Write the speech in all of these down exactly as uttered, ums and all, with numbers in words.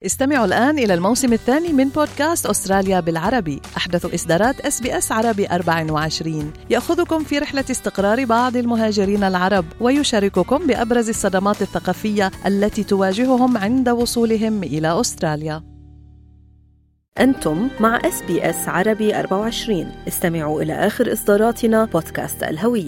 استمعوا الآن إلى الموسم الثاني من بودكاست أستراليا بالعربي، أحدث إصدارات إس بي إس عربي أربعة وعشرين، يأخذكم في رحلة استقرار بعض المهاجرين العرب ويشارككم بأبرز الصدمات الثقافية التي تواجههم عند وصولهم إلى أستراليا. أنتم مع إس بي إس عربي أربعة وعشرين. استمعوا إلى آخر إصداراتنا بودكاست الهوية.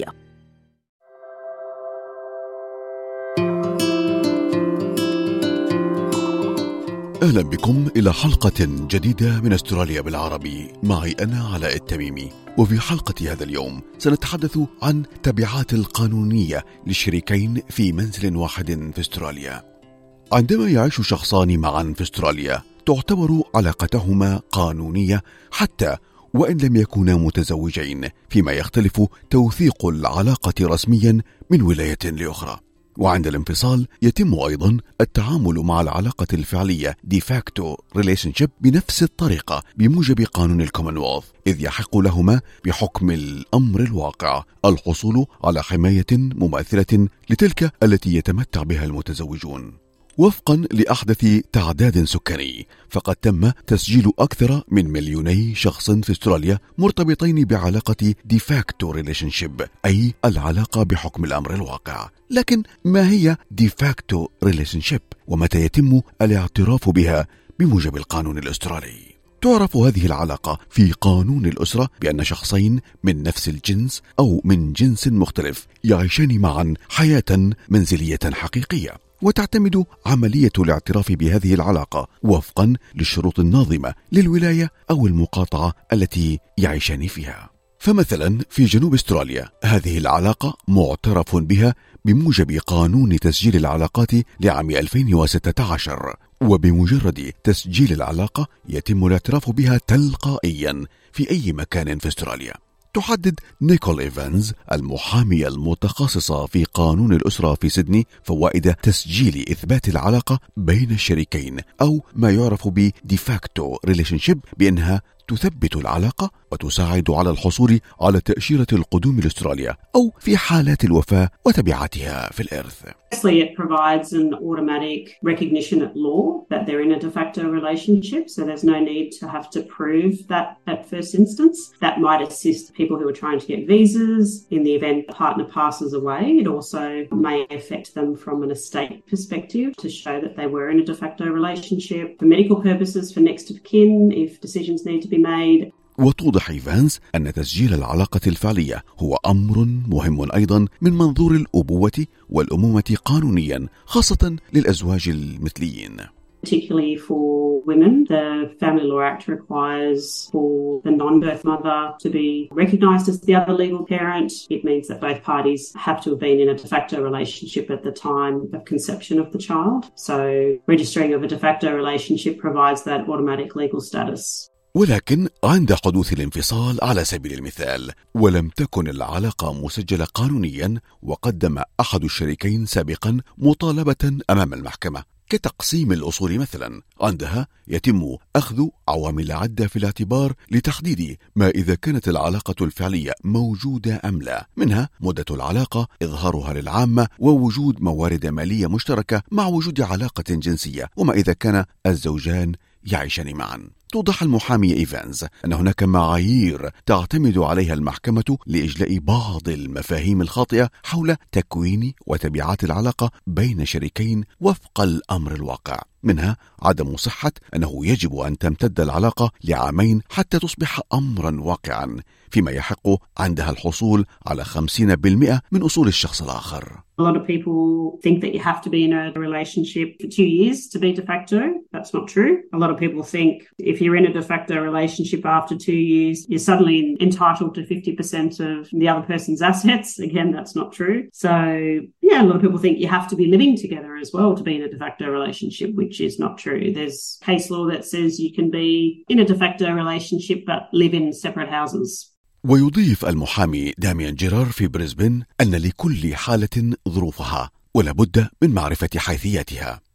أهلا بكم إلى حلقة جديدة من أستراليا بالعربي، معي أنا علاء التميمي. وفي حلقة هذا اليوم سنتحدث عن تبعات القانونية للشريكين في منزل واحد في أستراليا. عندما يعيش شخصان معا في أستراليا تعتبر علاقتهما قانونية حتى وإن لم يكونا متزوجين، فيما يختلف توثيق العلاقة رسميا من ولاية لأخرى. وعند الانفصال يتم أيضا التعامل مع العلاقة الفعلية de facto relationship بنفس الطريقة بموجب قانون الكومنولث، إذ يحق لهما بحكم الأمر الواقع الحصول على حماية مماثلة لتلك التي يتمتع بها المتزوجون. وفقا لأحدث تعداد سكاني، فقد تم تسجيل أكثر من مليوني شخص في أستراليا مرتبطين بعلاقة de facto relationship، أي العلاقة بحكم الأمر الواقع. لكن ما هي de facto relationship ومتى يتم الاعتراف بها بموجب القانون الأسترالي؟ تعرف هذه العلاقة في قانون الأسرة بأن شخصين من نفس الجنس أو من جنس مختلف يعيشان معا حياة منزلية حقيقية، وتعتمد عملية الاعتراف بهذه العلاقة وفقا للشروط الناظمة للولاية أو المقاطعة التي يعيشان فيها. فمثلا في جنوب أستراليا هذه العلاقة معترف بها بموجب قانون تسجيل العلاقات لعام ألفين وستة عشر، وبمجرد تسجيل العلاقة يتم الاعتراف بها تلقائيا في أي مكان في أستراليا. تحدد نيكول إيفانز المحامية المتخصصة في قانون الأسرة في سيدني فوائد تسجيل إثبات العلاقة بين الشريكين أو ما يعرف ب de facto relationship بأنها تثبت العلاقة وتساعد على الحصول على تأشيرة القدوم لأستراليا أو في حالات الوفاة وتبعاتها في الإرث. Firstly, it provides an automatic recognition at law that they're in a de facto relationship, so there's no need to have to prove that at first instance. That might assist people who are trying to get visas in the event the partner passes away. It also may affect them from an estate perspective to show that they were in a de facto relationship. For medical purposes, for next of kin, if decisions need to be made. وتوضح إيفانز أن تسجيل العلاقة الفعلية هو أمر مهم أيضا من منظور الأبوة والأمومة قانونيا، خاصة للأزواج المثليين. Particularly for women, the Family Law Act requires for the non-birth mother to be recognised as the other legal parent. It means that both parties have to have been in a de facto relationship at the time of conception of the child. So registering of a de facto relationship provides that automatic legal status. ولكن عند حدوث الانفصال على سبيل المثال ولم تكن العلاقة مسجلة قانونيا، وقدم أحد الشريكين سابقا مطالبة أمام المحكمة كتقسيم الأصول مثلا، عندها يتم أخذ عوامل عدة في الاعتبار لتحديد ما إذا كانت العلاقة الفعلية موجودة أم لا، منها مدة العلاقة، إظهارها للعامة، ووجود موارد مالية مشتركة مع وجود علاقة جنسية، وما إذا كان الزوجان يعيشان معا. توضح المحامية إيفانز أن هناك معايير تعتمد عليها المحكمة لإجلاء بعض المفاهيم الخاطئة حول تكوين وتبعات العلاقة بين شريكين وفق الأمر الواقع، منها عدم صحة أنه يجب أن تمتد العلاقة لعامين حتى تصبح أمرا واقعا، فيما يحق عندها الحصول على خمسين بالمئة من أصول الشخص الآخر. A lot of people think that you have to be in a relationship for two years to be de facto. That's not true. A lot of people think if you're in a de facto relationship after two years, you're suddenly entitled to fifty percent of the other person's assets. Again, that's not true. So, yeah, a lot of people think you have to be living together as well to be in a de facto relationship, which is not true. There's case law that says you can be in a de facto relationship but live in separate houses. ويضيف المحامي داميان جيرار في بريسبن أن لكل حالة ظروفها ولا بد من معرفة حيثياتها.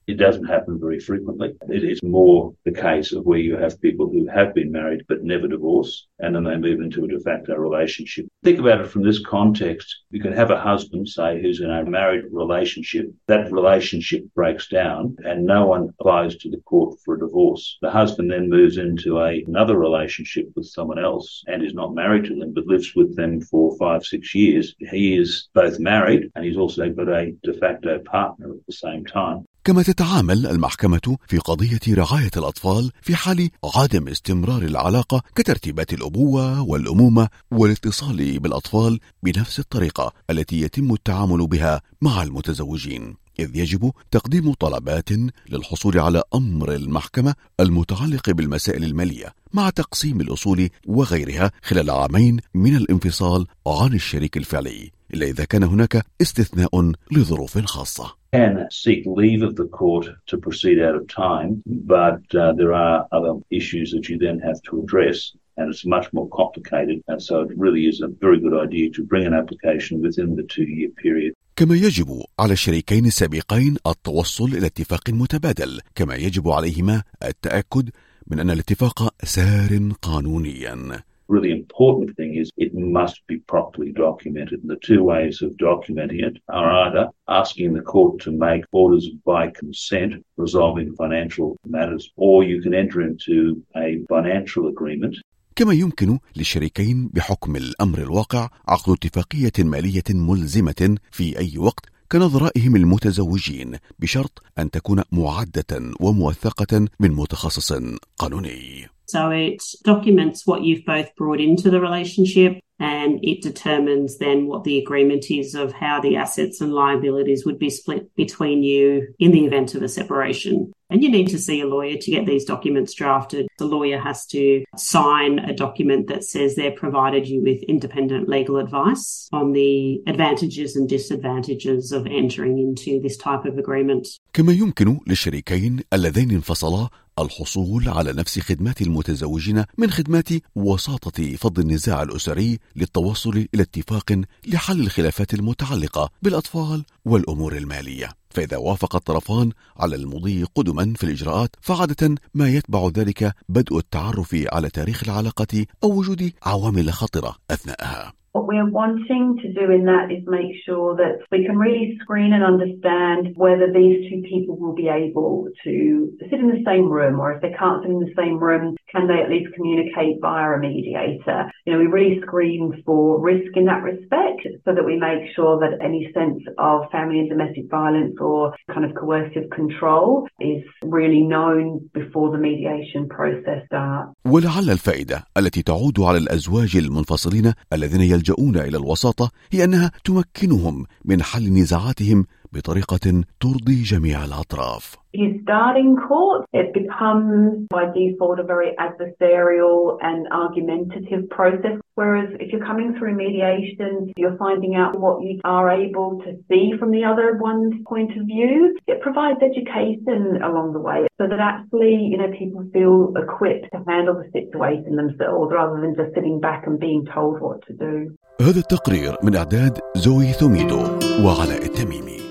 It doesn't happen very frequently. It is more the case of where you have people who have been married but never divorce, and then they move into a de facto relationship. Think about it from this context. You can have a husband, say, who's in a married relationship. That relationship breaks down and no one applies to the court for a divorce. The husband then moves into a, another relationship with someone else and is not married to them but lives with them for five, six years. He is both married and he's also got a de facto partner at the same time. كما تتعامل المحكمة في قضية رعاية الأطفال في حال عدم استمرار العلاقة كترتيبات الأبوة والأمومة والاتصال بالأطفال بنفس الطريقة التي يتم التعامل بها مع المتزوجين، إذ يجب تقديم طلبات للحصول على أمر المحكمة المتعلق بالمسائل المالية مع تقسيم الأصول وغيرها خلال عامين من الانفصال عن الشريك الفعلي، إلا إذا كان هناك استثناء لظروف خاصة. Can seek leave of the court to proceed out of time, but uh, there are other issues that you then have to address, and it's much more complicated, and so it really is a very good idea to bring an application within the two-year period. كما يجب على الشريكين السابقين التوصل إلى اتفاق متبادل، كما يجب عليهما التأكد من أن الاتفاق سار قانونيا. Really important thing is it must be properly documented. And the two ways of documenting it are either asking the court to make orders by consent resolving financial matters, or you can enter into a financial agreement. كما يمكن للشريكين بحكم الأمر الواقع عقد اتفاقية مالية ملزمة في أي وقت كنظرائهم المتزوجين، بشرط أن تكون معدة وموثقة من متخصص قانوني. So it documents what you've both brought into the relationship, and it determines then what the agreement is of how the assets and liabilities would be split between you in the event of a separation. And you need to see a lawyer to get these documents drafted. The lawyer has to sign a document that says they've provided you with independent legal advice on the advantages and disadvantages of entering into this type of agreement. كما يمكن للشريكين اللذين انفصلا الحصول على نفس خدمات المتزوجين من خدمات وساطة فض النزاع الأسري للتوصل إلى اتفاق لحل الخلافات المتعلقة بالأطفال والأمور المالية. فإذا وافق الطرفان على المضي قدما في الإجراءات، فعادة ما يتبع ذلك بدء التعرف على تاريخ العلاقة أو وجود عوامل خطرة أثناءها. What we're wanting to do in that is make sure that we can really screen and understand whether these two people will be able to sit in the same room, or if they can't sit in the same room, can they at least communicate via a mediator? You know, we really screen for risk in that respect so that we make sure that any sense of family and domestic violence or kind of coercive control is really known before the mediation process starts. ولعل الفائدة التي تعود على الأزواج المنفصلين الذين يلجؤون إلى الوساطة هي أنها تمكنهم من حل نزاعاتهم بطريقة ترضي جميع الأطراف. You start in court, it becomes by default a very adversarial and argumentative process. Whereas if you're coming through mediation, you're finding out what you are able to see from the other one's point of view. It provides education along the way so that actually, you know, people feel equipped to handle the situation themselves rather than just sitting back and being told what to do. هذا التقرير من إعداد زوي ثوميدو وعلاء التميمي.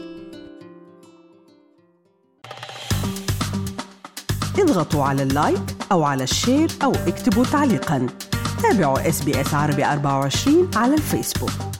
اضغطوا على اللايك أو على الشير أو اكتبوا تعليقاً. تابعوا إس بي إس عربي أربعة وعشرين على الفيسبوك.